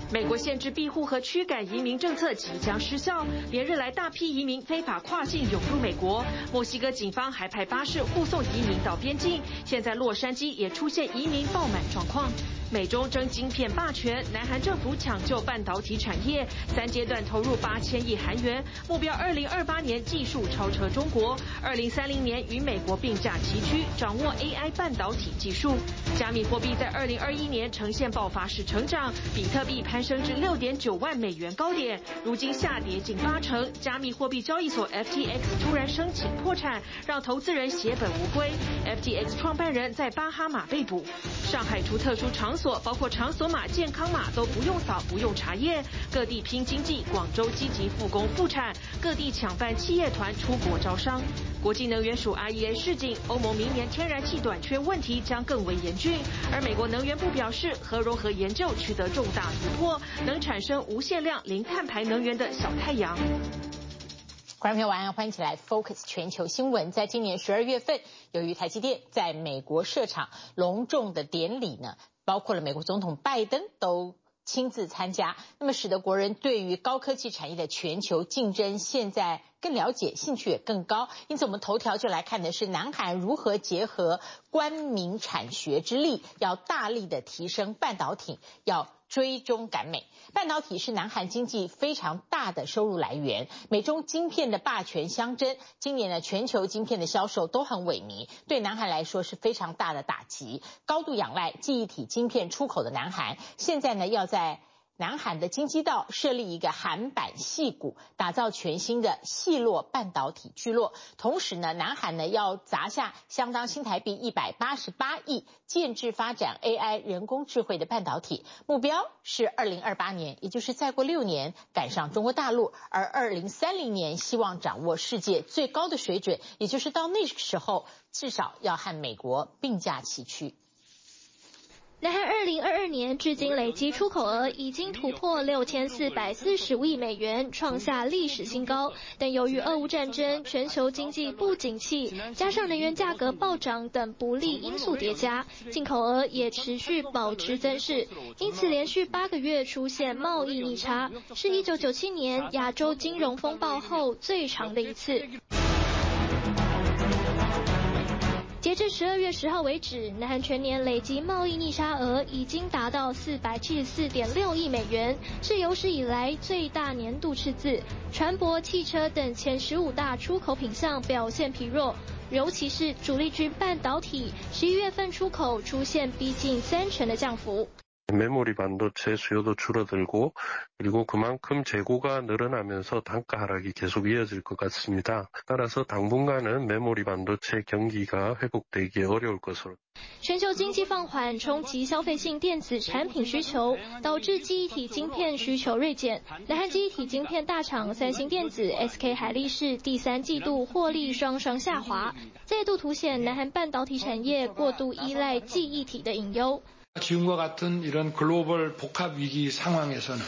美國限制庇護和驅趕移民政策即將失效，連日來大批移民非法跨境湧入美國。墨西哥警方還派巴士護送移民到邊境，現在洛杉磯也出現移民爆滿狀況。美中爭晶片霸權，南韓政府搶救半導體產業，3階段投入8000億韓元，目標2028年技術超車中國，2030年與美國並駕齊驅，掌握 AI 半導體技術。加密貨幣在2021年呈現爆發式成長，比特幣攀升至6.9萬美元高點，如今下跌近80%。加密貨幣交易所 FTX 突然申請破產，讓投資人血本無歸。FTX 創辦人在巴哈馬被捕。上海除特殊場所，包括場所碼、健康碼都不用掃、不用查驗，各地拼經濟。廣州積極復工復產，各地搶辦企業團出國招商。國際能源署 IEA 示警，歐盟明年天然氣短缺問題將更為嚴峻。而美國能源部表示，核融合研究取得重大突破，能產生無限量零碳排能源的小太陽。 觀眾朋友晚安，歡迎起來 Focus 全球新聞。在今年12月份，由於台積電在美國設廠隆重的典禮呢，包括了美國總統拜登都親自參加，那麼使得國人對於高科技產業的全球競爭現在更了解，興趣也更高。因此我們頭條就來看的是南韓如何結合官民產學之力，要大力的提升半導體，要追蹤趕美。半導體是南韓經濟非常大的收入來源，美中晶片的霸權相爭，今年呢全球晶片的銷售都很萎靡，對南韓來說是非常大的打擊。高度仰賴記憶體晶片出口的南韓，現在呢要在南韓的京畿道設立一個韓版矽谷，打造全新的矽洛半導體聚落。同時呢，南韓呢要砸下相當新台幣188億，建置發展 AI 人工智慧的半導體，目標是2028年，也就是再過6年趕上中國大陸，而2030年希望掌握世界最高的水準，也就是到那個時候至少要和美國並駕齊驅。 南韓2022年至今累計出口額已經突破6445億美元，創下歷史新高。但由於俄烏戰爭、全球經濟不景氣，加上能源價格暴漲等不利因素疊加，進口額也持續保持增勢，因此連續8個月出現貿易逆差，是1997年亞洲金融風暴後最長的一次。截至12月10號為止，南韓全年累計貿易逆差額已經達到474.6億美元，是有史以來最大年度赤字。船舶、汽車等前15大出口品項表現疲弱，尤其是主力軍半導體，11月份出口出現逼近30%的降幅。 메모리 반도체 수요도 줄어들고 그리고 그만큼 재고가 늘어나면서 단가 하락이 계속 이어질 것 같습니다. 따라서 당분간은 메모리 반도체 경기가 회복되기 어려울 것으로. 全球經濟放緩衝擊消費性電子產品需求，導致記憶體晶片需求銳減。南韓記憶體晶片大廠三星電子、SK 海力士第3季度獲利雙雙下滑，再度凸顯南韓半導體產業過度依賴記憶體的隱憂。 지금과 같은 이런 글로벌 복합 위기 상황에서는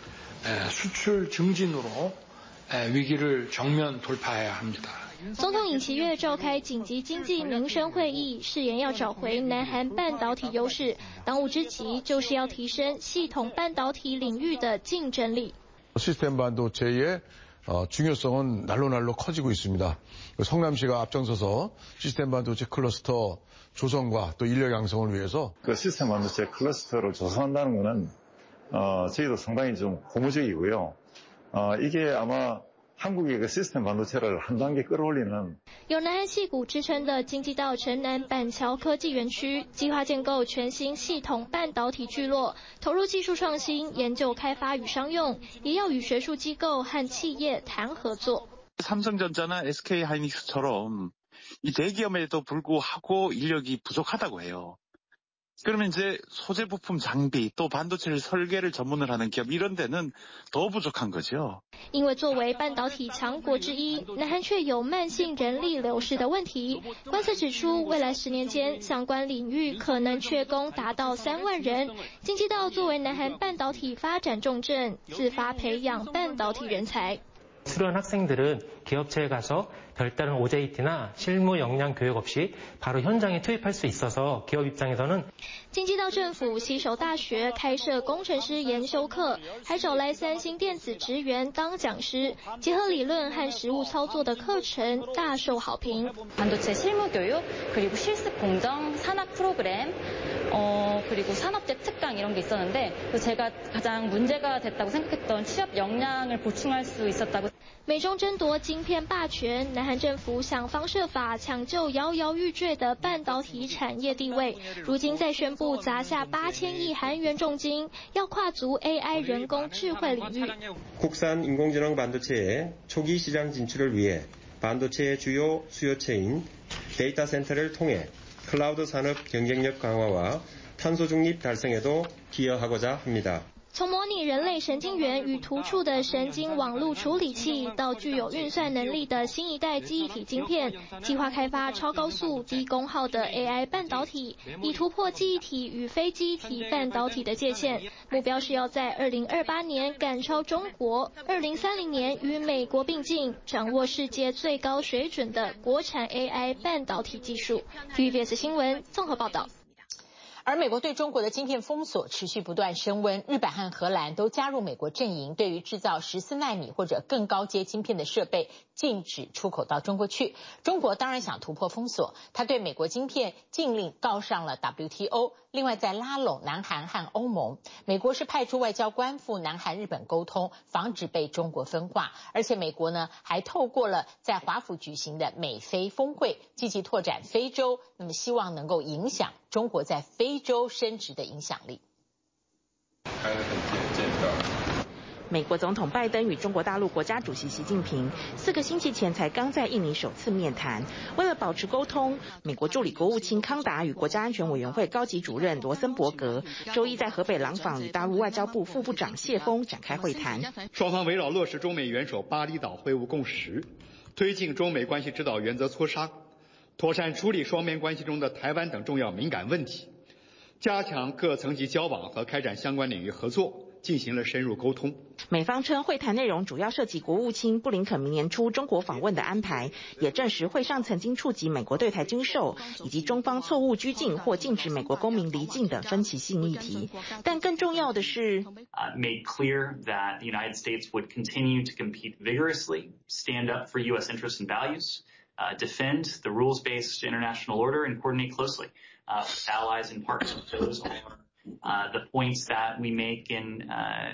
수출 증진으로 위기를 정면 돌파해야 합니다. 總統尹錫悅召開緊急經濟民生會議，誓言要找回南韓半導體優勢。當務之急就是要提升系統半導體領域的競爭力。 시스템 반도체의 중요성은 날로 커지고 있습니다. 성남시가 앞장서서 시스템 반도체 클러스터 조성과 또 인력 양성을 위해서 그 시스템 반도체 클러스터를 조성한다는 것은 저희도 상당히 좀 고무적이고요. 이게 아마 한국의 그 시스템 반도체를 한 단계 끌어올리는 有南韓矽谷之稱的京畿道城南板橋科技園區，計劃建構全新系統半導體聚落，投入技術創新、研究開發與商用，也要與學術機構和企業談合作。 삼성전자나 SK 하이닉스처럼 이 대기업에도 불구하고 인력이 부족하다고 해요. 그러면 이제 소재 부품 장비 또 반도체를 설계를 전문을 하는 기업 이런 데는 더 부족한 거죠. 因為作為半導體強國之一，南韓卻有慢性人力流失的問題。觀測指出，未來10年間，相關領域可能缺工達到3萬人。京畿道作為南韓半導體發展重鎮，自發培養半導體人才。 수료한 학생들은 기업체에 가서 별다른 OJT나 실무 역량 교육 없이 바로 현장에 투입할 수 있어서 기업 입장에서는 经济到政府携手大学開設工程師研修課，還找來三星電子職員當講師，結合理論和實務操作的課程大受好評。 반도체 실무 교육 그리고 실습 공정 산업 프로그램 그리고 산업재 특강 이런 게 있었는데 제가 가장 문제가 됐다고 생각했던 취업 역량을 보충할 수 있었다고. 美中爭奪晶片霸權，南韓政府想方設法搶救搖搖欲墜的半導體產業地位，如今再宣布砸下8000億韓元重金，要跨足 AI 人工智慧領域。 국산 인공지능 반도체의 초기 시장 진출을 위해 반도체의 주요 수요체인 데이터 센터를 통해 클라우드 산업 경쟁력 강화와 탄소 중립 달성에도 기여하고자 합니다. 從模擬人類神經元與突觸的神經網絡處理器，到具有運算能力的新一代記憶體晶片，計劃開發超高速、低功耗的 AI 半導體，以突破記憶體與非記憶體半導體的界限。目標是要在2028年趕超中國，2030年與美國並進，掌握世界最高水準的國產 AI 半導體技術。TVBS 新聞綜合報道。 而美國對中國的晶片封鎖持續不斷升溫，日本和荷蘭都加入美國陣營，對於製造14奈米或者更高階晶片的設備禁止出口到中國去。中國當然想突破封鎖，他對美國晶片禁令告上了 WTO。另外，在拉攏南韓和歐盟，美國是派出外交官赴南韓、日本溝通，防止被中國分化。而且美國呢，還透過了在華府舉行的美非峰會，積極拓展非洲，那麼希望能夠影響中國在非洲升值的影響力。 美國總統拜登與中國大陸國家主席習近平4個星期前才剛在印尼首次面談。為了保持溝通，美國助理國務卿康達與國家安全委員會高級主任羅森伯格周一在河北廊坊與大陸外交部副部長謝鋒展開會談。 雙方圍繞落實中美元首巴厘島會晤共識，推進中美關係指導原則磋商，妥善處理雙邊關係中的台灣等重要敏感問題，加強各層級交往和開展相關領域合作，進行了深入溝通。 美方稱會談內容主要涉及國務卿布林肯明年初中國訪問的安排，也證實會上曾經觸及美國對台軍售以及中方錯誤拘禁或禁止美國公民離境等分歧性議題。但更重要的是 made clear that the United States would continue to compete vigorously, stand up for U.S. interests and values, defend the rules-based international order, and coordinate closely with allies and partners. Those are the points that we make in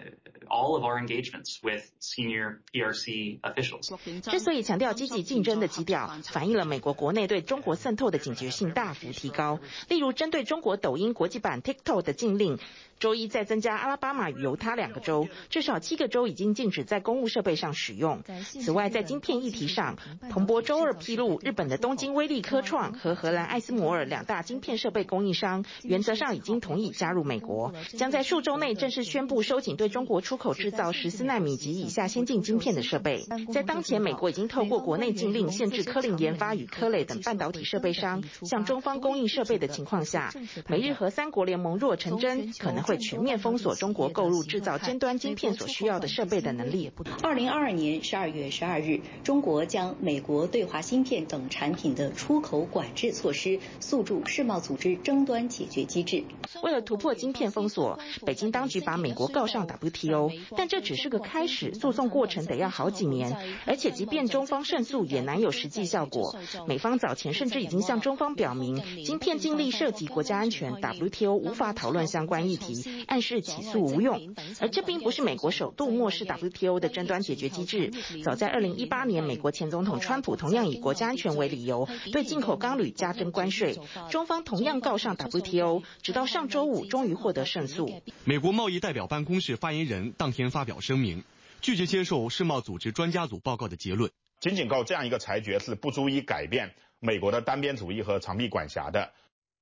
all of our engagements with senior PRC officials. 之所以強調積極競爭的基調，反映了美國國內對中國滲透的警覺性大幅提高。例如，針對中國抖音國際版 TikTok 的禁令，周一再增加阿拉巴馬與猶他2個州，至少7個州已經禁止在公務設備上使用。此外，在晶片議題上，彭博周二披露，日本的東京威力科創和荷蘭艾斯摩爾2大晶片設備供應商，原則上已經同意加入美國，將在數週內正式宣布收緊對中國出口製造14奈米及以下先進晶片的設備。在當前美國已經透過國內禁令限制科林研發與科磊等半導體設備商向中方供應設備的情況下，美日荷3國聯盟若成真，可能會全面封鎖中國購入製造尖端晶片所需要的設備的能力。 2022年12月12日，中國將美國對華芯片等產品的出口管制措施訴諸世貿組織爭端解決機制。 為了突破晶片封鎖，北京當局把美國告上 WTO， 但這只是個開始，訴訟過程得要好幾年，而且即便中方勝訴，也難有實際效果。美方早前甚至已經向中方表明，晶片禁令涉及國家安全 ，WTO 無法討論相關議題，暗示起訴無用。而這並不是美國首度漠視 WTO 的爭端解決機制。早在2018年，美國前總統川普同樣以國家安全為理由，對進口鋼鋁加徵關稅，中方同樣告上 WTO， 直到上周五終於獲得勝訴。 美國貿易代表辦公室發言人當天發表聲明，拒絕接受世貿組織專家組報告的結論。 僅僅靠這樣一個裁決是不足以改變美國的單邊主義和長臂管轄的。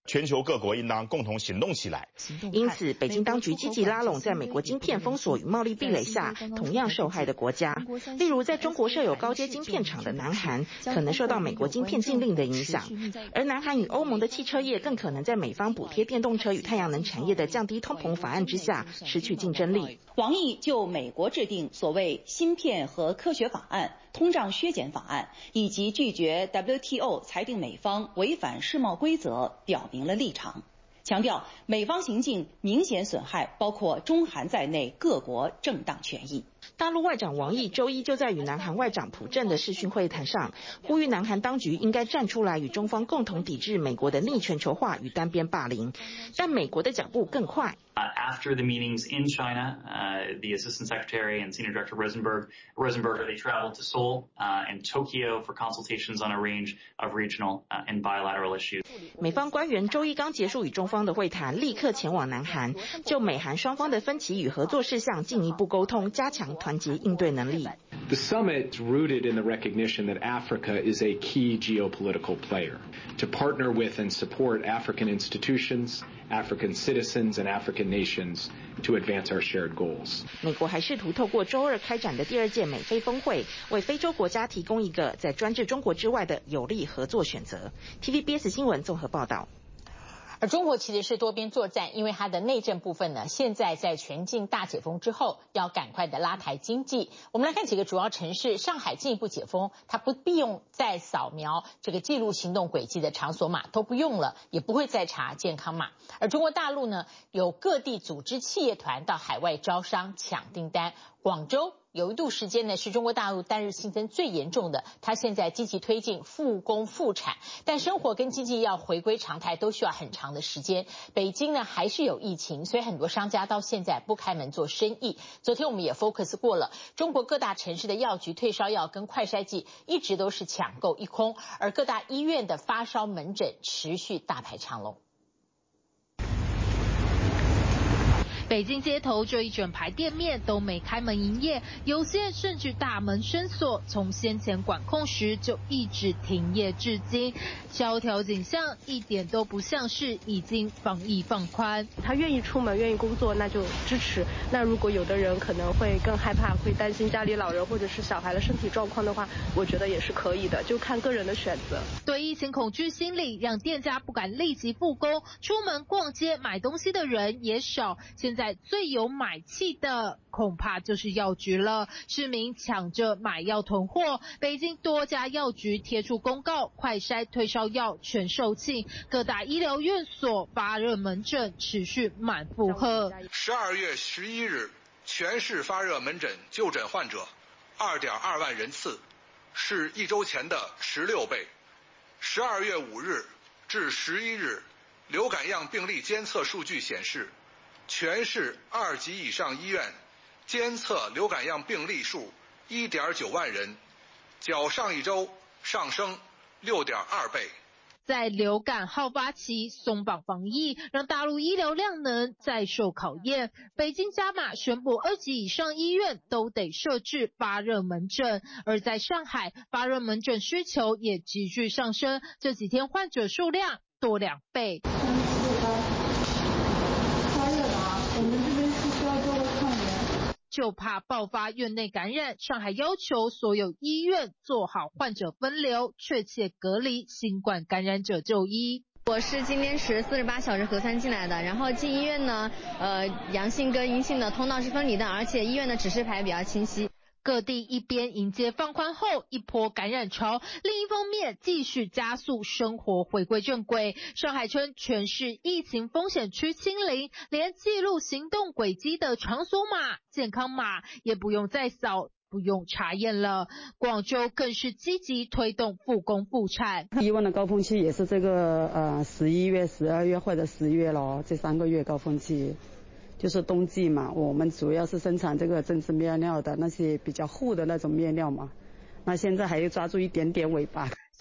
全球各國應當共同行動起來。 因此，北京當局積極拉攏在美國晶片封鎖與貿易壁壘下同樣受害的國家，例如在中國設有高階晶片廠的南韓，可能受到美國晶片禁令的影響，而南韓與歐盟的汽車業更可能在美方補貼電動車與太陽能產業的降低通膨法案之下失去競爭力。 王毅就美國制定所謂芯片和科學法案、通脹削減法案，以及拒絕 WTO 裁定美方違反世貿規則表明了立場，強調美方行徑明顯損害包括中韓在內各國正當權益。 大陸外長王毅周一就在與南韓外長朴正的視訊會談上，呼籲南韓當局應該站出來與中方共同抵制美國的逆全球化與單邊霸凌，但美國的腳步更快。 After the meetings in China, the Assistant Secretary and Senior Director Rosenberg, they traveled to Seoul and Tokyo for consultations on a range of regional and bilateral issues. 美方官員周一剛結束與中方的會談，立刻前往南韓，就美韓雙方的分歧與合作事項進一步溝通，加強團結應對能力。 The summit rooted in the recognition that Africa is a key geopolitical player. To partner with and support African institutions, African citizens, and African nations to advance our shared goals. 美國還試圖透過周二開展的第二屆美非峰會，為非洲國家提供一個在專制中國之外的有利合作選擇。TVBS 新聞綜合報道。 而中國其實是多邊作戰，因為它的內政部分呢，現在在全境大解封之後，要趕快的拉抬經濟。我們來看幾個主要城市，上海進一步解封，它不必用再掃描這個記錄行動軌跡的場所碼都不用了，也不會再查健康碼。而中國大陸呢，有各地組織企業團到海外招商搶訂單。廣州有一度時間呢，是中國大陸單日新增最嚴重的，它現在積極推進復工復產，但生活跟經濟要回歸常態都需要很長的時間。北京呢還是有疫情，所以很多商家到現在不開門做生意。昨天我們也 focus 過了，中國各大城市的藥局退燒藥跟快篩劑一直都是搶購一空，而各大醫院的發燒門診持續大排長龍。 北京街頭這一整排店面都沒開門營業，有些甚至大門深鎖，從先前管控時就一直停業至今。蕭條景象一點都不像是已經防疫放寬。 他願意出門，願意工作，那就支持。那如果有的人可能會更害怕，會擔心家裡老人或者是小孩的身體狀況的話，我覺得也是可以的，就看個人的選擇。 對疫情恐懼心理，讓店家不敢立即復工，出門逛街買東西的人也少。現在最有買氣的恐怕就是藥局了，市民搶着買藥囤貨。北京多家藥局貼出公告，快篩退燒藥全售罄，各大醫療院所發熱門診持續滿負荷。 12月11日，全市發熱門診就診患者2.2萬人次，是一周前的16倍。12月5日至11日，流感樣病例監測數據顯示，全市2級以上醫院監測流感樣病例數1.9萬人，較上一周上升6.2倍。 在流感好發期鬆綁防疫，讓大陸醫療量能再受考驗。北京加碼宣布2級以上醫院都得設置發熱門診，而在上海發熱門診需求也急劇上升，這幾天患者數量多2倍。就怕爆發院內感染，上海要求所有醫院做好患者分流，確切隔離新冠感染者就醫。 我是今天持48小時核酸進來的，然後進醫院呢，陽性跟陰性的通道是分離的，而且醫院的指示牌比較清晰。 各地一邊迎接放寬後一波感染潮，另一方面繼續加速生活回歸正軌。上海稱全市疫情風險區清零，連記錄行動軌跡的場所碼、健康碼也不用再掃，不用查驗了。廣州更是積極推動復工復產。 以往的高峰期也是這個11月、12月或者10月咯，這3個月高峰期。就是冬季嘛，我們主要是生產這個針織面料的那些比較厚的那種面料嘛，那現在還要抓住一點點尾巴。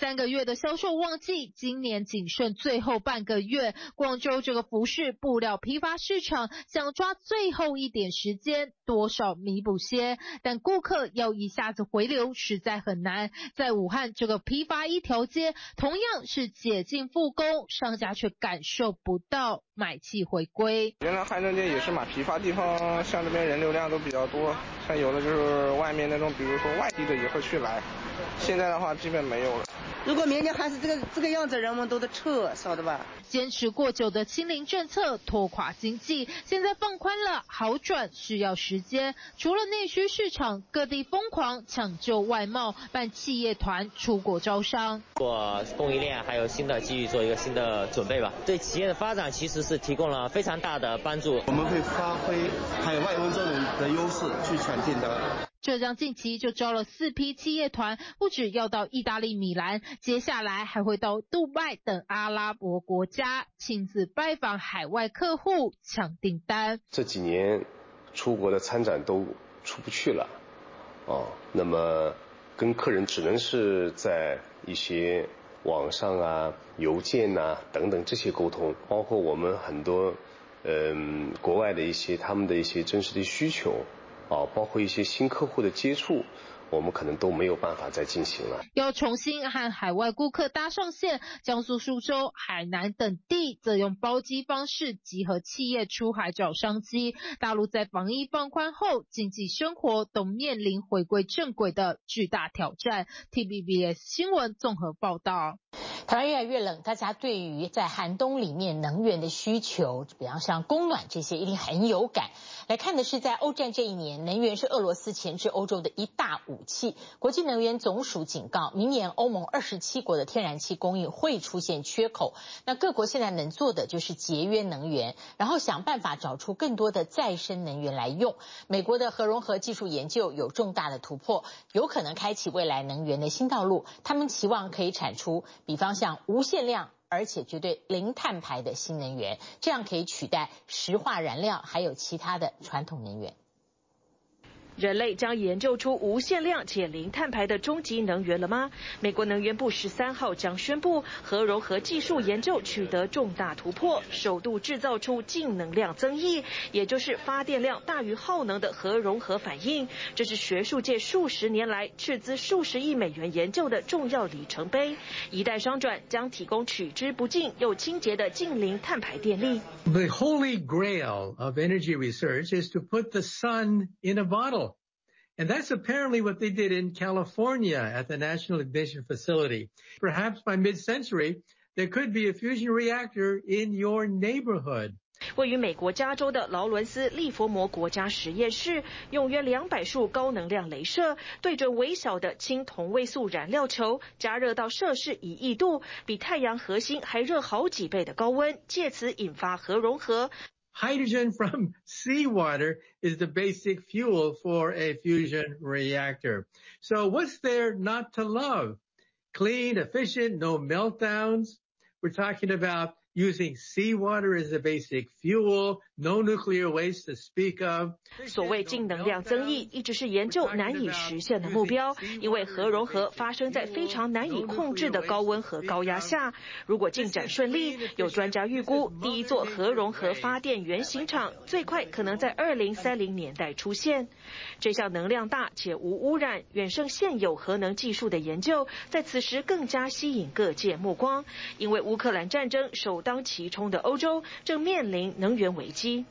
3個月的銷售旺季，今年僅剩最後半個月。廣州這個服飾布料批發市場想抓最後一點時間，多少彌補些，但顧客要一下子回流實在很難。在武漢這個批發一條街，同樣是解禁復工，商家卻感受不到買氣回歸。 原來漢正街也是嘛，批發地方像這邊人流量都比較多，像有的就是外面那種，比如說外地的也會去來，現在的話基本沒有了。 如果明年還是這個樣子，人們都得撤，曉得吧？ 堅持過久的清零政策拖垮經濟，現在放寬了，好轉需要時間。除了內需市場，各地瘋狂搶救外貿，辦企業團出國招商。 做供應鏈還有新的機遇，做一個新的準備吧。對企業的發展其實是提供了非常大的幫助。 我們會發揮海外溫州人的優勢去搶訂單。 浙江近期就招了4批企業團，不只要到意大利米蘭，接下來還會到杜拜等阿拉伯國家，親自拜訪海外客戶搶訂單。 這幾年出國的參展都出不去了，那麼跟客人只能是在一些網上啊、郵件啊等等這些溝通，包括我們很多國外的一些他們的一些真實的需求。包括一些新客戶的接觸，我們可能都沒有辦法再進行了。 要重新和海外顧客搭上線，江蘇蘇州、海南等地則用包機方式集合企業出海找商機。大陸在防疫放寬後，經濟生活都面臨回歸正軌的巨大挑戰。TVBS 新聞綜合報道。 台灣越來越冷，大家對於在寒冬裡面能源的需求，比方像供暖這些，一定很有感。來看的是在歐戰這一年，能源是俄羅斯鉗制歐洲的一大武器。國際能源總署警告，明年歐盟27國的天然氣供應會出現缺口。那各國現在能做的就是節約能源，然後想辦法找出更多的再生能源來用。美國的核融合技術研究有重大的突破，有可能開啟未來能源的新道路。他們期望可以產出，比方像無限量而且絕對零碳排的新能源，這樣可以取代石化燃料還有其他的傳統能源。 人類將研究出無限量且零碳排的終極能源了嗎？美國能源部13號將宣布，核融合技術研究取得重大突破，首度制造出淨能量增益，也就是發電量大於耗能的核融合反應。這是學術界數十年來斥資數十億美元研究的重要里程碑，一旦商轉，將提供取之不盡又清潔的淨零碳排電力。 The holy grail of energy research is to put the sun in a bottle. And that's apparently what they did in California at the National Ignition Facility. Perhaps by mid-century, there could be a fusion reactor in your neighborhood. 位於美國加州的勞倫斯利佛摩國家實驗室，用約200束高能量雷射對準微小的氫同位素燃料球，加熱到攝氏1億度，比太陽核心還熱好幾倍的高溫，借此引發核融合。 Hydrogen from seawater is the basic fuel for a fusion reactor. So what's there not to love? Clean, efficient, no meltdowns. We're talking about using seawater as a basic fuel, no nuclear waste to speak of. 所謂淨能量增益一直是研究難以實現的目標，因為核融合發生在非常難以控制的高溫和高壓下。如果進展順利，有專家預估第一座核融合發電原型廠最快可能在2030年代出現。這項能量大且無污染、遠勝現有核能技術的研究，在此時更加吸引各界目光，因為烏克蘭戰爭首當其衝的歐洲正面臨能源危機。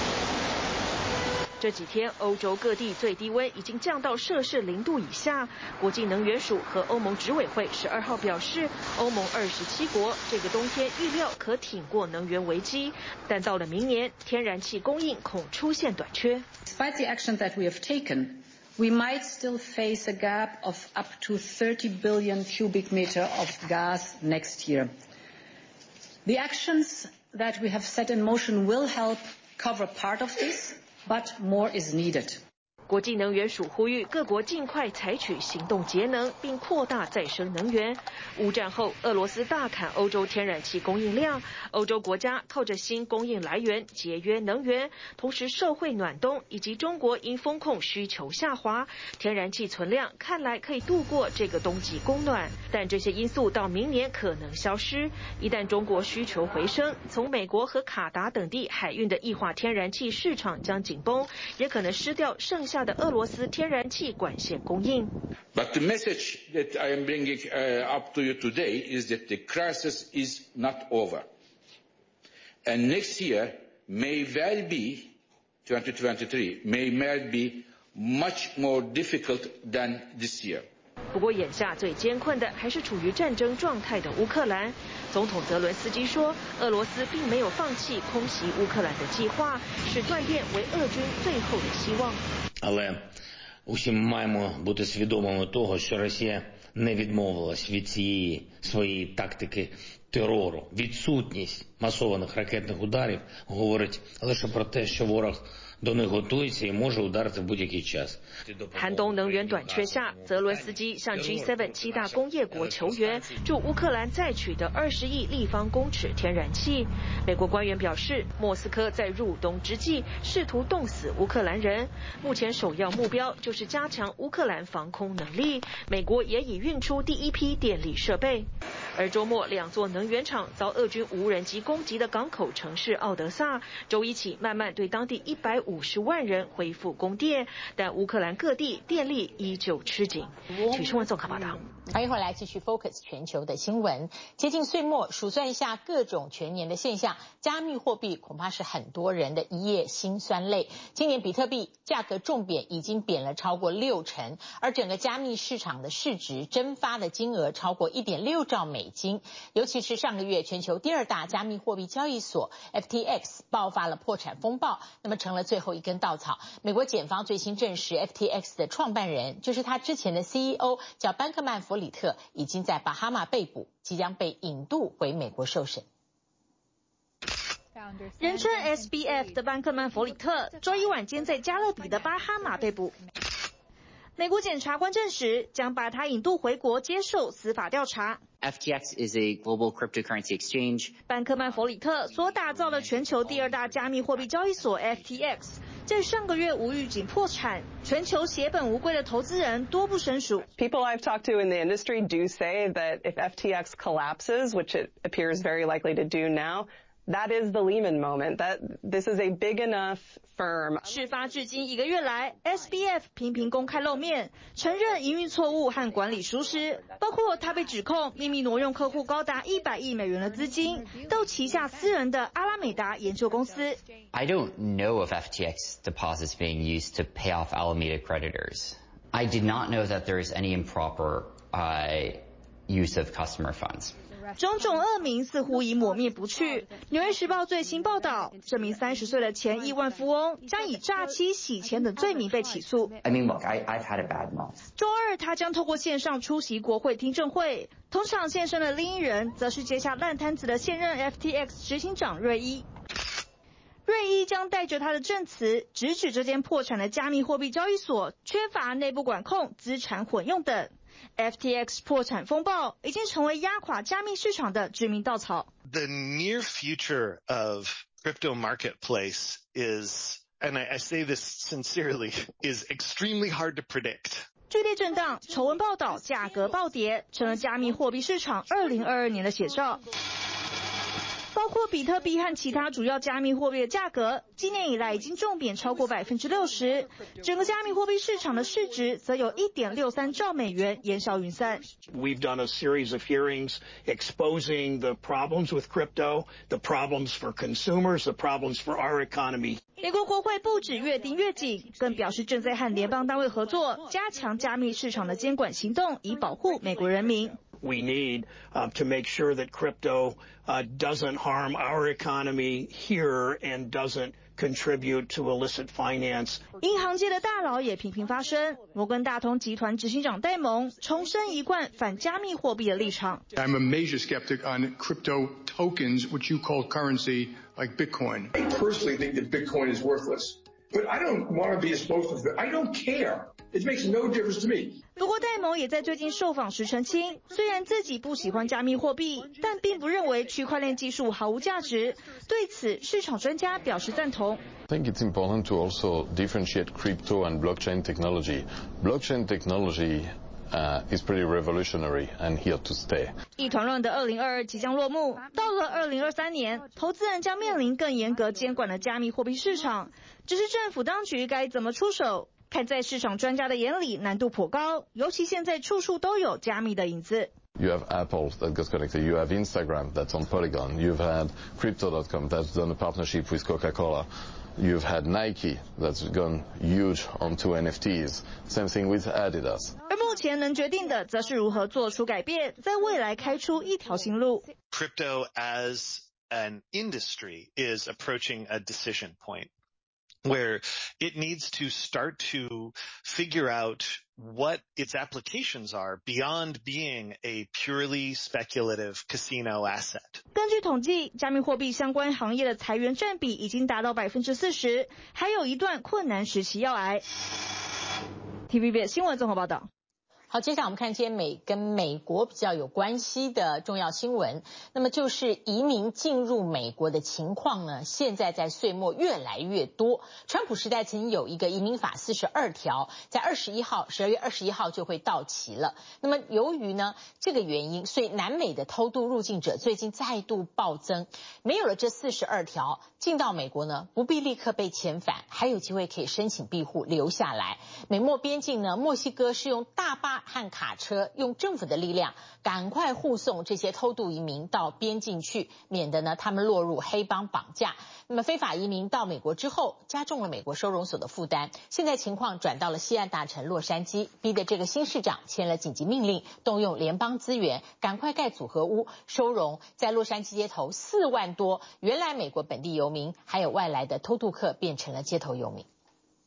這幾天，歐洲各地最低溫已經降到攝氏0度以下。國際能源署和歐盟執委會12號表示，歐盟27國這個冬天預料可挺過能源危機，但到了明年，天然氣供應恐出現短缺。 Despite the action that we have taken, we might still face a gap of up to 30 billion cubic meter of gas next year. The actions that we have set in motion will help cover part of this, but more is needed. 國際能源署呼籲各國盡快採取行動節能，並擴大再生能源。烏戰後，俄羅斯大砍歐洲天然氣供應量，歐洲國家靠着新供應來源節約能源，同時社會暖冬，以及中國因風控需求下滑，天然氣存量看來可以度過這個冬季供暖。但這些因素到明年可能消失。一旦中國需求回升，從美國和卡達等地海運的液化天然氣市場將緊繃，也可能失掉剩下的俄羅斯天然氣管線供應。 But the message that I am bringing up to you today is that the crisis is not over. And next year may well be, 2023, may well be much more difficult than this year. 不過眼下最艰困的還是處於戰爭狀態的烏克蘭。總統澤倫斯基說，俄羅斯並沒有放棄空襲烏克蘭的計劃，視斷電為俄軍最後的希望。 Але усі маємо бути свідомими того, що Росія не відмовилась від цієї своєї тактики терору. Відсутність масованих ракетних ударів говорить лише про те, що ворог до них готується і може ударити в будь-який час. 寒冬能源短缺下，澤倫斯基向 G7 7大工業國求援，助烏克蘭再取得20億立方公尺天然氣。美國官員表示，莫斯科在入冬之際試圖凍死烏克蘭人，目前首要目標就是加強烏克蘭防空能力。美國也已運出第一批電力設備。而週末兩座能源廠遭俄軍無人機攻擊的港口城市奧德薩，週一起慢慢對當地150萬人恢復供電，但烏克蘭各地電力依舊吃緊。許新聞綜合報道。 歡迎回來，繼續 Focus 全球的新聞。接近歲末，數算一下各種全年的現象，加密貨幣恐怕是很多人的一夜辛酸淚。今年比特幣價格重貶，已經貶了超過60%，而整個加密市場的市值蒸發的金額超過1.6兆美金。尤其是上個月，全球第二大加密貨幣交易所 FTX 爆發了破產風暴，那麼成了最後一根稻草。美國檢方最新證實 FTX 的創辦人，就是他之前的 CEO 叫班克曼弗里特，已經在巴哈馬被捕，即將被引渡回美國受審。 人稱 SBF 的班克曼弗里特，周一晚間在加勒比的巴哈馬被捕。美國檢察官證實，將把他引渡回國接受司法調查。 FTX is a global cryptocurrency exchange. 班克曼弗里特所打造的全球第二大加密貨幣交易所 FTX， 在上個月無預警破產，全球血本無歸的投資人多不勝數。 People I've talked to in the industry do say that if FTX collapses, which it appears very likely to do now, that is the Lehman moment. That this is a big enough firm. 事發至今1個月來 ，SBF 頻頻公開露面，承認營運錯誤和管理疏失，包括他被指控秘密挪用客戶高達100億美元的資金到旗下私人的阿拉美達研究公司。 I don't know of FTX deposits being used to pay off Alameda creditors. I did not know that there is any improper use of customer funds. 種種惡名似乎已抹滅不去。《紐約時報》最新報道，這名30歲的前億萬富翁將以詐欺、洗錢等罪名被起訴。 I mean, look, I've had a bad month. 週二，他將透過線上出席國會聽證會。同場現身的另一人，則是接下爛攤子的現任 FTX 執行長瑞伊。瑞伊將帶着他的證詞，直指這間破產的加密貨幣交易所缺乏內部管控、資產混用等。FTX 破產風暴已經成為壓垮加密市場的致命稻草。 The near future of crypto marketplace is, and I say this sincerely, is extremely hard to predict. 劇烈震盪、醜聞報道、價格暴跌，成了加密貨幣市場2022年的寫照。包括比特幣和其他主要加密貨幣的價格，今年以來已經重貶超過60%，整個加密貨幣市場的市值則有1.63兆美元煙消雲散。 We've done a series of hearings exposing the problems with crypto, the problems for consumers, the problems for our economy. 美國國會不止越盯越緊，更表示正在和聯邦單位合作，加強加密市場的監管行動，以保護美國人民。 We need to make sure that crypto doesn't harm our economy here and doesn't contribute to illicit finance. 銀行界的大佬也頻頻發聲，摩根大通集團執行長戴蒙重申一貫反加密貨幣的立場。 I'm a major skeptic on crypto tokens, which you call currency, like Bitcoin. I personally think that Bitcoin is worthless. But I don't want to be exposed to it. I don't care. It makes no difference to me. 不過戴蒙也在最近受訪時澄清，雖然自己不喜歡加密貨幣，但並不認為區塊鏈技術毫無價值。對此，市場專家表示贊同。 I think it's important to also differentiate crypto and blockchain technology. Blockchain technology is pretty revolutionary and here to stay. 一團亂的2022即將落幕，到了2023年，投資人將面臨更嚴格監管的加密貨幣市場。只是政府當局該怎麼出手？看在市場專家的眼裡，難度頗高，尤其現在處處都有加密的影子。 You have Apple that got connected. You have Instagram that's on Polygon. You've had Crypto.com that's done a partnership with Coca-Cola. You've had Nike that's gone huge onto NFTs. Same thing with Adidas. 而目前能決定的，則是如何做出改變，在未來開出一條新路。 Crypto as an industry is approaching a decision point where it needs to start to figure out what its applications are beyond being a purely speculative casino asset. 根據統計，加密貨幣相關行業的裁員佔比已經達到40%，還有一段困難時期要挨。TVBS 新聞綜合報道。 好，接下來我們看今天跟美國比較有關係的重要新聞，那麼就是移民進入美國的情況呢，現在在歲末越來越多。川普時代曾經有一個移民法42條，在12月21號就會到期了。那麼由於呢這個原因，所以南美的偷渡入境者最近再度暴增。沒有了這42條，進到美國呢不必立刻被遣返，還有機會可以申請庇護留下來。美墨邊境呢，墨西哥是用大巴和卡車，用政府的力量趕快護送這些偷渡移民到邊境去，免得呢他們落入黑幫綁架。那麼非法移民到美國之後，加重了美國收容所的負擔。現在情況轉到了西岸大城洛杉磯，逼得這個新市長簽了緊急命令，動用聯邦資源，趕快蓋組合屋收容在洛杉磯街頭4萬多原來美國本地遊民還有外來的偷渡客變成了街頭遊民。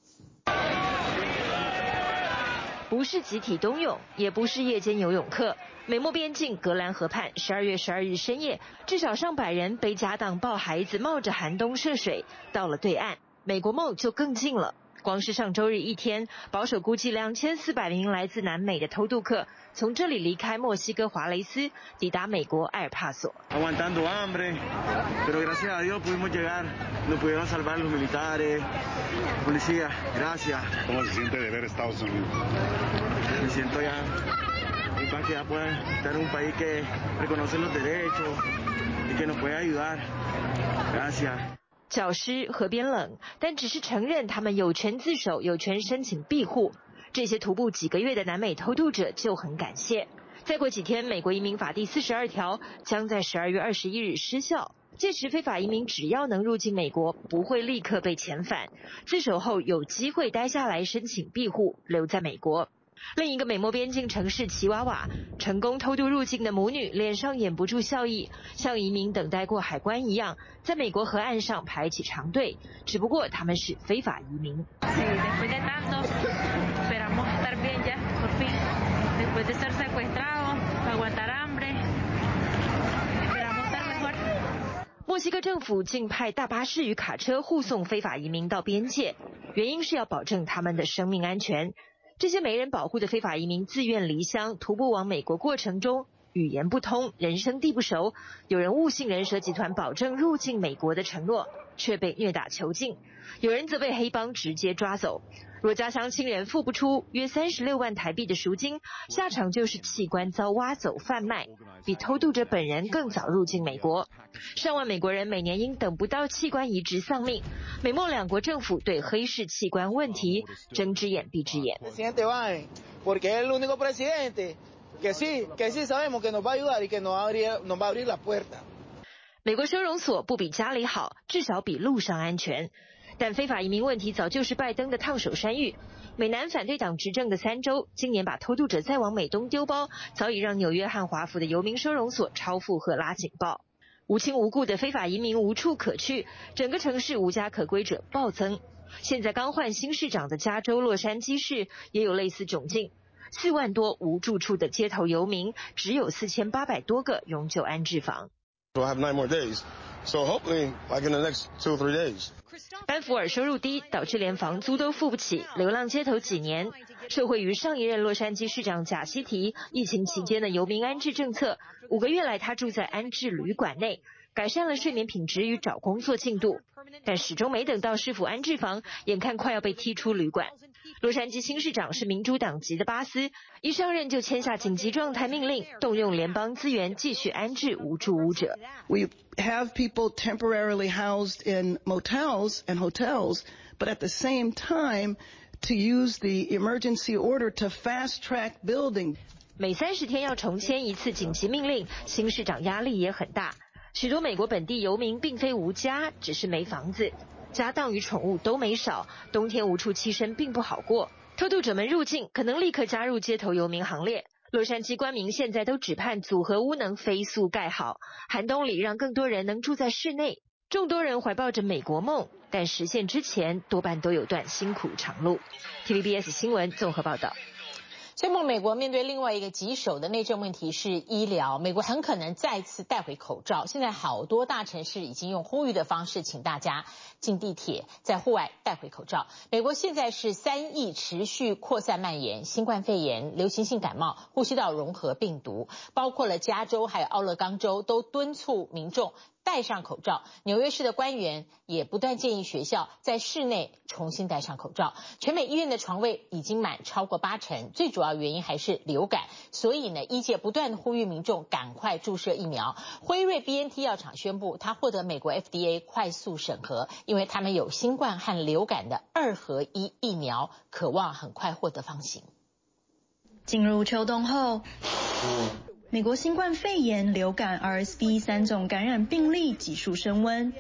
不是集體冬泳，也不是夜間游泳課。美墨邊境格蘭河畔，12月12日深夜，至少上百人背家當抱孩子，冒着寒冬涉水到了對岸。美國夢就更近了。光是上周日一天，保守估計2400名來自南美的偷渡客從這裡離開墨西哥華雷斯，抵達美國埃爾帕索。 Aguantando hambre, pero gracias a Dios pudimos llegar. Nos pudieron salvar los militares, policía. Gracias. ¿Cómo se siente de ver Estados Unidos? Me siento ya en paz que ya pueda estar en un país que reconoce los derechos y que nos puede ayudar. Gracias. 教師河邊冷，但只是承認他們有權自首，有權申請庇護。這些徒步幾個月的南美偷渡者就很感謝。再過幾天，美國移民法第42條將在12月21日失效，屆時非法移民只要能入境美國，不會立刻被遣返，自首後有機會待下來申請庇護，留在美國。另一個美墨邊境城市奇瓦瓦，成功偷渡入境的母女臉上掩不住笑意，像移民等待過海關一樣，在美國河岸上排起長隊，只不過他們是非法移民。墨西哥政府竟派大巴士與卡車護送非法移民到邊界，原因是要保證他們的生命安全。這些沒人保護的非法移民自願離鄉，徒步往美國過程中，語言不通，人生地不熟，有人誤信人蛇集團保證入境美國的承諾，卻被虐打囚禁；有人則被黑幫直接抓走。若家鄉親人付不出約36萬台幣的贖金，下場就是器官遭挖走販賣，比偷渡者本人更早入境美國。上萬美國人每年因等不到器官移植喪命。美墨兩國政府對黑市器官問題睜隻眼閉隻眼。美國收容所不比家裡好，至少比路上安全。但非法移民問題早就是拜登的燙手山芋。美南反對黨執政的3州，今年把偷渡者再往美東丟包，早已讓紐約和華府的遊民收容所超負荷拉警報。無親無故的非法移民無處可去，整個城市無家可歸者暴增。現在剛換新市長的加州洛杉磯市也有類似窘境，4萬多無住處的街頭遊民，只有4800多個永久安置房。 So I have 9 more days. So hopefully, like in the next 2 or 3 days. 班福尔收入低，导致连房租都付不起，流浪街头几年。受惠于上一任洛杉矶市长贾西提疫情期间的游民安置政策，5个月来他住在安置旅馆内，改善了睡眠品質與找工作進度，但始終沒等到市府安置房，眼看快要被踢出旅館。洛杉磯新市長是民主黨籍的巴斯，一上任就簽下緊急狀態命令，動用聯邦資源繼續安置無住屋者。 We have people temporarily housed in motels and hotels, but at the same time, to use the emergency order to fast track building. 每30天要重簽一次緊急命令，新市長壓力也很大。許多美國本地遊民並非無家，只是沒房子，家當與寵物都沒少，冬天無處棲身並不好過。偷渡者們入境，可能立刻加入街頭遊民行列。洛杉磯官民現在都只盼組合屋能飛速蓋好，寒冬裡讓更多人能住在室內。眾多人懷抱着美國夢，但實現之前多半都有段辛苦長路。TVBS 新聞綜合報道。 最後，美國面對另外一個棘手的內政問題是醫療，美國很可能再次帶回口罩。現在好多大城市已經用呼籲的方式，請大家進地鐵，在戶外帶回口罩。美國現在是3億持續擴散蔓延，新冠肺炎、流行性感冒、呼吸道融合病毒，包括了加州還有奧勒岡州都敦促民眾戴上口罩。紐約市的官員也不斷建議學校在室內重新戴上口罩。全美醫院的床位已經滿超過80%，最主要原因還是流感。所以呢，醫界不斷呼籲民眾趕快注射疫苗。輝瑞 BNT 藥廠宣布，它獲得美國 FDA 快速審核，因為他們有新冠和流感的2合1疫苗，渴望很快獲得放行。 進入秋冬後，美國新冠肺炎、流感、RSV 3種感染病例急速升溫。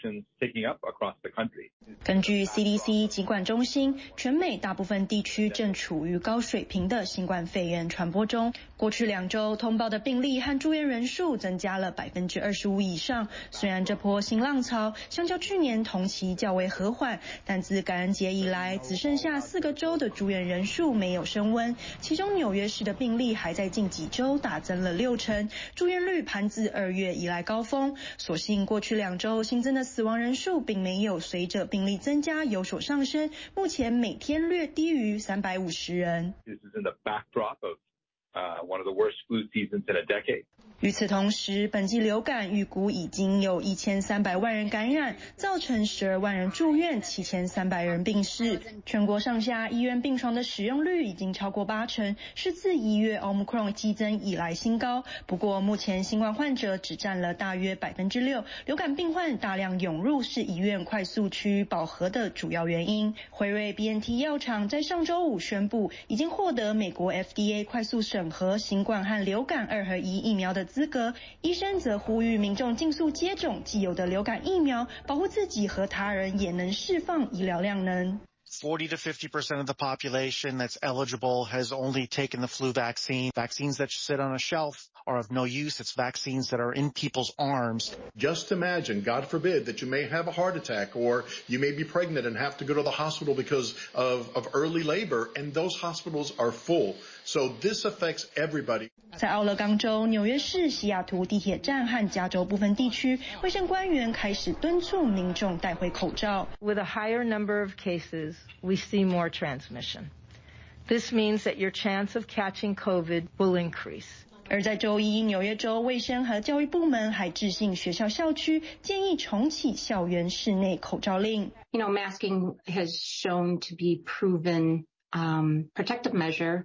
根據 CDC 疾管中心，全美大部分地區正處於高水平的新冠肺炎傳播中。過去2週通報的病例和住院人數增加了25%以上。雖然這波新浪潮相較去年同期較為和緩，但自感恩節以來，只剩下4個州的住院人數沒有升溫。其中紐約市的病例還在近幾週大增了60%，住院率攀自2月以來高峰。所幸過去2週新增的死亡人數並沒有隨着病例增加有所上升，目前每天略低於350人。 This is in the backdrop of one of the worst flu seasons in a decade. 與此同時，本季流感預估已經有1300萬人感染，造成12萬人住院，7300人病逝。全國上下醫院病床的使用率已經超過80%，是自1月 Omicron 激增以來新高。不過，目前新冠患者只佔了大約6%，流感病患大量湧入是醫院快速趨於飽和的主要原因。輝瑞 BNT 藥廠在上週5宣布，已經獲得美國 FDA 快速審核新冠和流感2合1疫苗的資格。醫生則呼籲民眾盡速接種既有的流感疫苗，保護自己和他人，也能釋放醫療量能。 40 to 50% of the population that's eligible has only taken the flu vaccine. Vaccines that sit on a shelf are of no use. It's vaccines that are in people's arms. Just imagine, God forbid, that you may have a heart attack or you may be pregnant and have to go to the hospital because of early labor, and those hospitals are full. So this affects everybody. 在奧勒岡州、紐約市、西雅圖地鐵站和加州部分地區，衛生官員開始敦促民眾戴回口罩。 With a higher number of cases, we see more transmission. This means that your chance of catching COVID will increase. 而在周一，紐約州衛生和教育部門還致信學校校區，建議重啟校園室內口罩令。 You know, masking has shown to be proven protective measure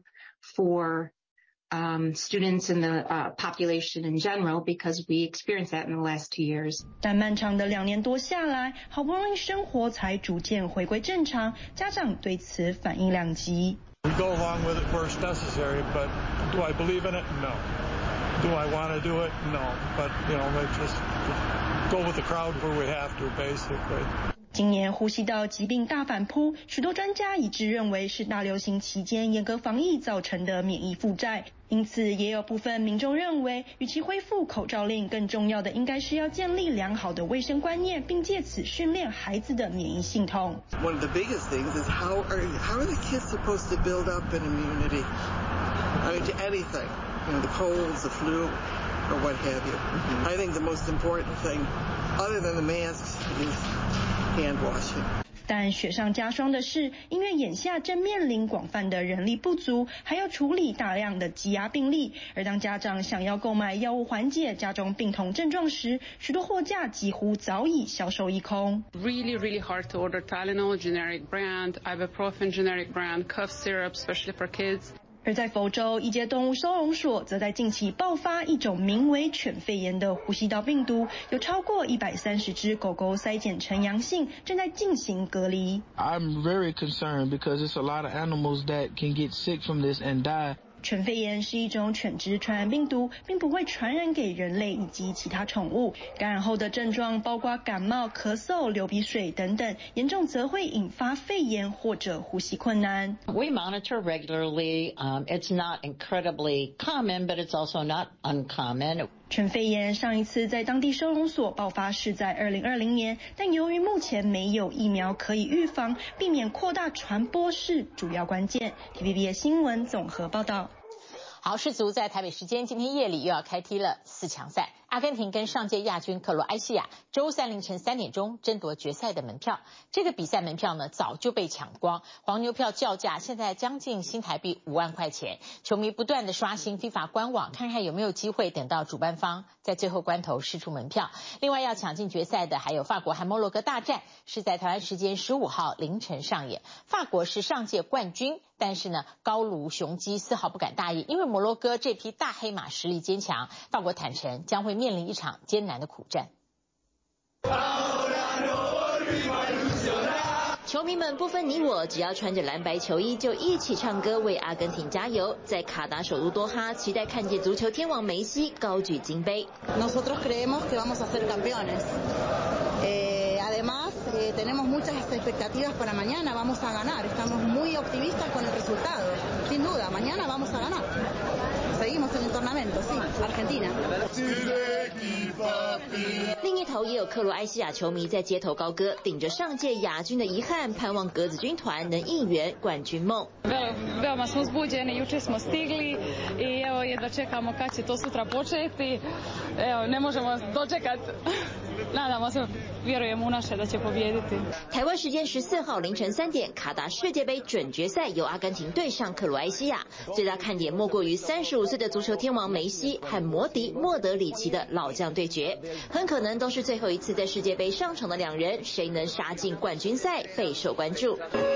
for students in the population in general, because we experienced that in the last 2 years. 但漫長的2年多下來，好不容易生活才逐漸回歸正常，家長對此反應兩極。 We go along with it where it's necessary, but do I believe in it? No. Do I want to do it? No. But, you know, let's just go with the crowd where we have to, basically. 今年呼吸道疾病大反撲，許多專家一致認為是大流行期間嚴格防疫造成的免疫負債。因此，也有部分民眾認為，與其恢復口罩令，更重要的應該是要建立良好的衛生觀念，並借此訓練孩子的免疫系統。 One of the biggest things is how are the kids supposed to build up an immunity? I mean, to anything, you know, the colds, the flu. or what have you. I think the most important thing, other than the masks, is hand washing. 但雪上加霜的是，因为眼下正面临广泛的人力不足，还要處理大量的積壓病例。而當家長想要購買藥物緩解家中病童症狀時，許多貨架幾乎早已銷售一空。 Really hard to order Tylenol generic brand, ibuprofen generic brand, cough syrup, especially for kids. 而在佛州，一間動物收容所則在近期爆發一種名為犬肺炎的呼吸道病毒，有超過130隻狗狗篩檢成陽性，正在進行隔離。 I'm very concerned because it's a lot of animals that can get sick from this and die. 犬肺炎是一種犬只傳染病毒，並不會傳染給人類以及其他寵物。感染後的症狀包括感冒、咳嗽、流鼻水等等，嚴重則會引發肺炎或者呼吸困難。 We monitor regularly. It's not incredibly common, but it's also not uncommon. 犬肺炎上一次在當地收容所爆發是在2020年，但由於目前沒有疫苗可以預防，避免擴大傳播是主要關鍵。TVBS 新聞綜合報道。 好，世足在台北時間今天夜裡又要開踢了4強賽，阿根廷跟上屆亞軍克羅埃西亞周3凌晨3點鐘爭奪決賽的門票。這個比賽門票呢早就被搶光，黃牛票叫價現在將近新台幣5萬塊錢，球迷不斷的刷新 FIFA 官網，看看有沒有機會等到主辦方在最後關頭釋出門票。另外要搶進決賽的還有法國和摩洛哥大戰，是在台灣時間15號凌晨上演。法國是上屆冠軍，但是呢高盧雄雞絲毫不敢大意，因為摩洛哥這匹大黑馬實力堅強，法國坦承將會面臨一場艱難的苦戰。 球迷們不分你我，只要穿着藍白球衣就一起唱歌為阿根廷加油。在卡達首都多哈，期待看見足球天王梅西高舉金杯。 Nosotros creemos que vamos a ser campeones. Además, tenemos muchas expectativas para mañana. Vamos a ganar. Estamos muy optimistas con el resultado. Sin duda, mañana vamos a ganar. Seguimos en el tornamento, sí, Argentina. 另一頭也有克羅埃西亞球迷在街頭高歌，頂着上屆亞軍的遺憾，盼望格子軍團能應援冠軍夢。 Veoma smo uzbuđeni, jučer smo stigli i evo jedva čekamo kad će to sutra početi. Evo, ne možemo dočekati. Nadamo se, vjerujemo u naše da će pobijediti. 台灣時間14號凌晨3點，卡達世界杯準決賽由阿根廷對上克羅埃西亞，最大看點莫過於35歲的足球天王梅西和魔敵莫德里奇的老將對決，很可能都是最後一次在世界杯上場的兩人，誰能殺進冠軍賽備受關注。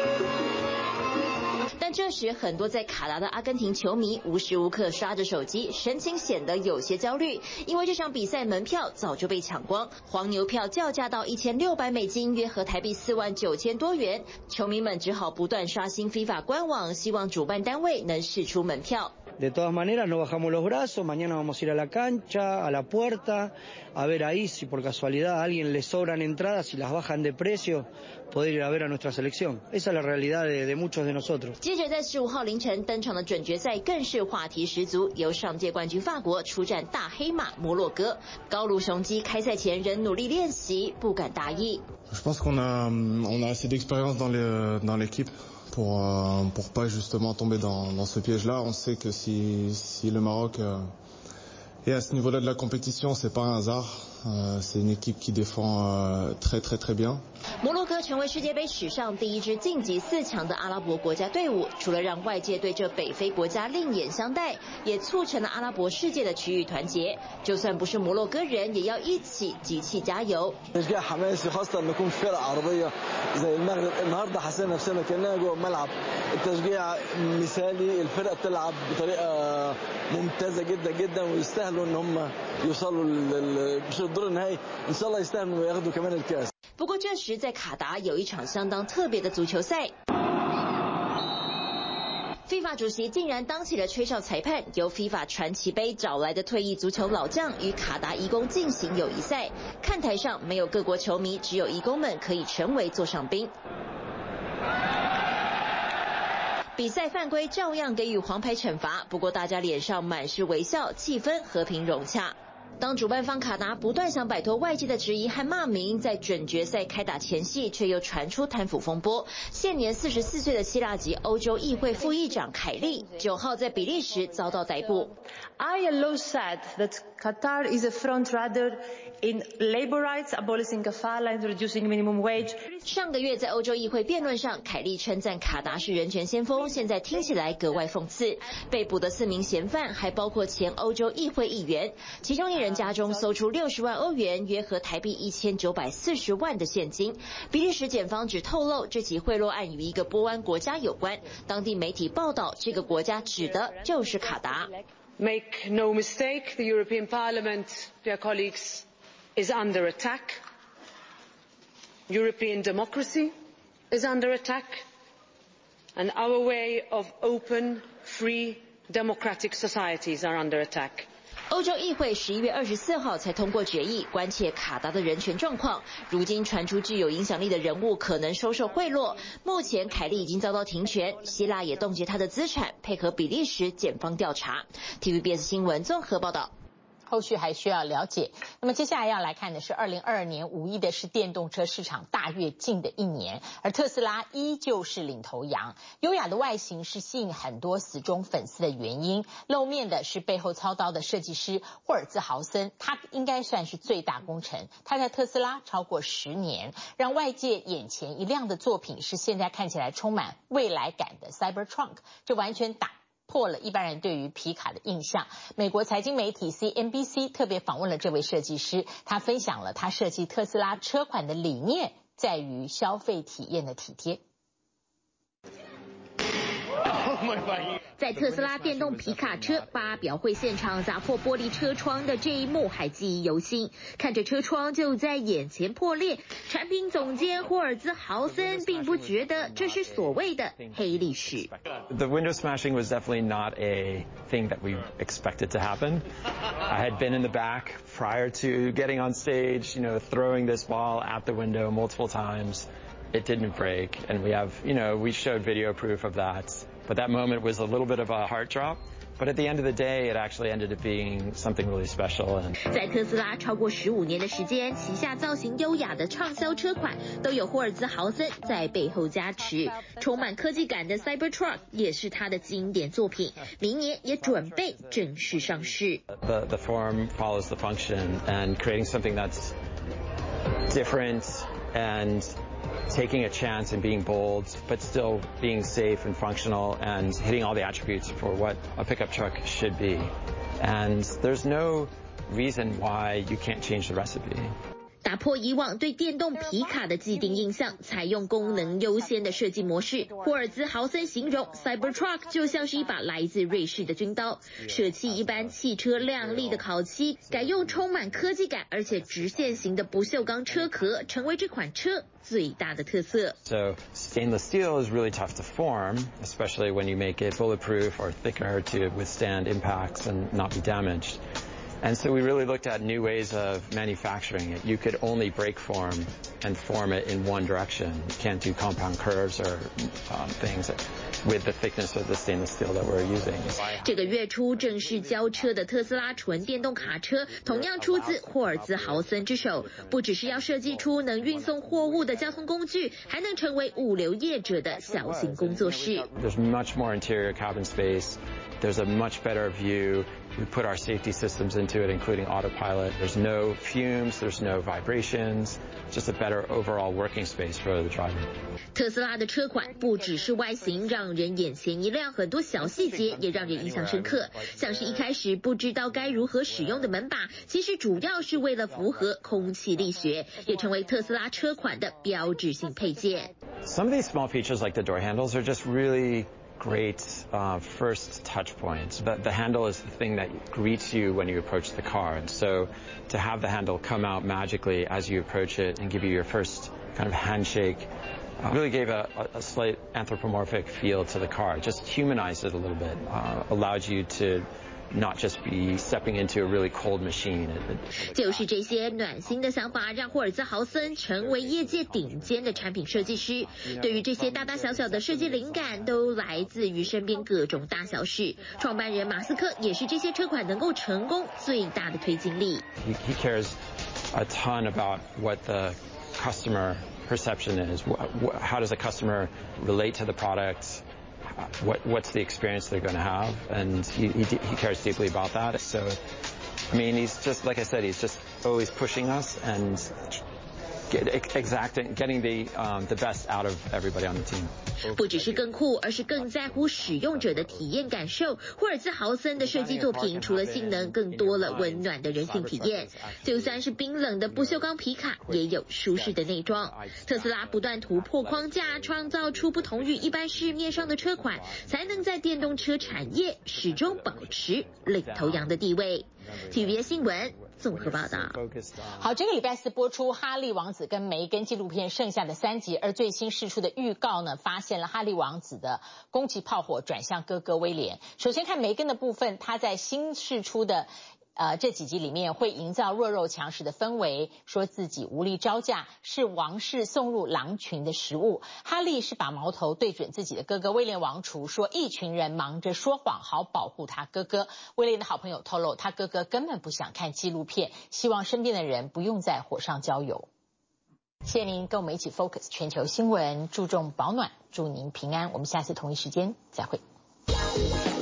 但這時，很多在卡達的阿根廷球迷無時無刻刷着手機，神情顯得有些焦慮，因為這場比賽門票早就被搶光，黃牛票叫價到1600美金，約合台幣49000多元，球迷們只好不斷刷新 FIFA 官網，希望主辦單位能釋出門票。 De todas maneras, no bajamos los brazos, mañana vamos a ir a la cancha, a la puerta, a ver ahí si por casualidad a alguien le sobran entradas y las bajan de precio, poder ir a ver a nuestra selección. Esa es la realidad de muchos de nosotros. 接着在15號凌晨登場的準決賽更是話題十足，由上屆冠軍法國出戰大黑馬摩洛哥。高盧雄雞開賽前仍努力練習，不敢大意。 Je pense qu'on a assez d'expérience dans l'équipe. Pour pas justement tomber dans ce piège-là. On sait que si le Maroc est à ce niveau-là de la compétition, c'est pas un hasard. C'est une équipe qui défend très bien. 摩洛哥成為世界杯史上第一支晉級4強的阿拉伯國家隊伍，除了讓外界對這北非國家另眼相待，也促成了阿拉伯世界的區域團結。就算不是摩洛哥人，也要一起集氣加油。 تشجيع حماسي خاصة إن نكون فرقة عربية زي المغرب. النهارده حسينا نفسنا كأننا جوه الملعب. التشجيع مثالي. الفرقة بتلعب بطريقة ممتازة جدا ويستاهلوا إن هم يوصلوا مش الدور النهائي. إن شاء الله يستاهلوا وياخدوا كمان الكأس. 不過這時在卡達有一場相當特別的足球賽。FIFA 主席竟然當起了吹哨裁判，由 FIFA 傳奇杯找來的退役足球老將與卡達移工進行友誼賽。看台上沒有各國球迷，只有移工們可以成為座上賓。比賽犯規照樣給予黃牌懲罰，不過大家臉上滿是微笑，氣氛和平融洽。 當主辦方卡達不斷想擺脫外界的質疑和罵名，在準決賽開打前夕，卻又傳出貪腐風波。現年44歲的希臘籍歐洲議會副議長凱利9號在比利時遭到逮捕。 ILO said that Qatar is a front-runner in labor rights, abolishing kafala and reducing minimum wage. 上個月在歐洲議會辯論上，凱利稱讚卡達是人權先鋒，現在聽起來格外諷刺。被捕的4名嫌犯還包括前歐洲議會議員，其中1人家中搜出60萬歐元，約合台幣1940萬的現金。比利時檢方只透露這起賄賂案與一個波灣國家有關，當地媒體報道這個國家指的就是卡達。 Make no mistake, the European Parliament, dear colleagues, is under attack. European democracy is under attack. And our way of open, free, democratic societies are under attack. 歐洲議會11月24號才通過決議，關切卡達的人權狀況。如今傳出具有影響力的人物可能收受賄賂。目前凱利已經遭到停權，希臘也凍結他的資產，配合比利時檢方調查。TVBS 新聞綜合報道。 後續還需要了解。那麼接下來要來看的是2022年5一的是電動車市場大躍進的一年，而特斯拉依舊是領頭羊。優雅的外形是吸引很多死忠粉絲的原因。露面的是背後操刀的設計師霍爾茲豪森，他應該算是最大功臣。他在特斯拉超過10年，讓外界眼前一亮的作品是現在看起來充滿未來感的 Cybertruck， 這完全打破了一般人對於皮卡的印象。美國財經媒體 CNBC 特別訪問了這位設計師，他分享了他設計特斯拉車款的理念，在於消費體驗的體貼。 在特斯拉電動皮卡車發表會現場砸破玻璃車窗的這一幕還記憶猶新，看着車窗就在眼前破裂，產品總監霍爾茲豪森並不覺得這是所謂的黑歷史。 The window smashing was definitely not a thing that we expected to happen. I had been in the back prior to getting on stage, throwing this ball at the window multiple times. It didn't break, and we showed video proof of that. But that moment was a little bit of a heart drop. But at the end of the day, it actually ended up being something really special. 在特斯拉超過15年的時間，旗下造型優雅的暢銷車款都有霍爾茲豪森在背後加持。充滿科技感的 Cybertruck 也是他的經典作品，明年也準備正式上市。 The form follows the function, and creating something that's different and taking a chance and being bold, but still being safe and functional and hitting all the attributes for what a pickup truck should be. And there's no reason why you can't change the recipe. 打破以往對電動皮卡的既定印象，採用功能優先的設計模式。霍爾茲豪森形容 Cybertruck 就像是一把來自瑞士的軍刀，捨棄一般汽車亮麗的烤漆，改用充滿科技感而且直線型的不鏽鋼車殼，成為這款車最大的特色。 So stainless steel is really tough to form, especially when you make it bulletproof or thicker to withstand impacts and not be damaged. And so we really looked at new ways of manufacturing it. You could only break form and form it in one direction. You can't do compound curves or things with the thickness of the stainless steel that we're using. 這個月初正式交車的特斯拉純電動卡車，同樣出自霍爾茲豪森之手。不只是要設計出能運送貨物的交通工具，還能成為物流業者的小型工作室。 There's much more interior cabin space. There's a much better view. We put our safety systems into it, including autopilot. There's no fumes, there's no vibrations, just a better overall working space for the driver. 特斯拉的車款不只是外形讓人眼前一亮，很多小細節也讓人印象深刻。像是一開始不知道該如何使用的門把，其實主要是為了符合空氣力學，也成為特斯拉車款的標誌性配件。 Some of these small features like the door handles are just really great first touch points. The handle is the thing that greets you when you approach the car. And so to have the handle come out magically as you approach it and give you your first kind of handshake really gave a slight anthropomorphic feel to the car. Just humanized it a little bit, allowed you to not just be stepping into a really cold machine. 就是这些暖心的想法，让霍尔兹豪森成为業界頂尖的產品設計師。對於這些大大小小的設計靈感，都來自於身邊各種大小事。創辦人馬斯克也是這些車款能夠成功最大的推進力。 He cares a ton about what the customer perception is. How does the customer relate to the product? What's the experience they're going to have? And he cares deeply about that. So, I mean, he's just, like I said, he's just always pushing us and getting the best out of everybody on the team. 不只是更酷，而是更在乎使用者的體驗感受。霍爾茲豪森的設計作品除了性能，更多了溫暖的人性體驗。就算是冰冷的不鏽鋼皮卡，也有舒適的內裝。特斯拉不斷突破框架，創造出不同於一般市面上的車款，才能在電動車產業始終保持領頭羊的地位。TVBS 新聞綜合報道。 好，這個禮拜4播出哈利王子跟梅根紀錄片剩下的3集，而最新釋出的預告呢，發現了哈利王子的攻擊炮火轉向哥哥威廉。首先看梅根的部分，他在新釋出的這幾集裡面會營造弱肉強食的氛圍，說自己無力招架，是王室送入狼群的食物。哈利是把矛頭對準自己的哥哥威廉王儲，說一群人忙着說謊，好保護他哥哥。威廉的好朋友透露，他哥哥根本不想看紀錄片，希望身邊的人不用在火上澆油。謝謝您跟我們一起 Focus 全球新聞，注重保暖，祝您平安。我們下次同一時間再會。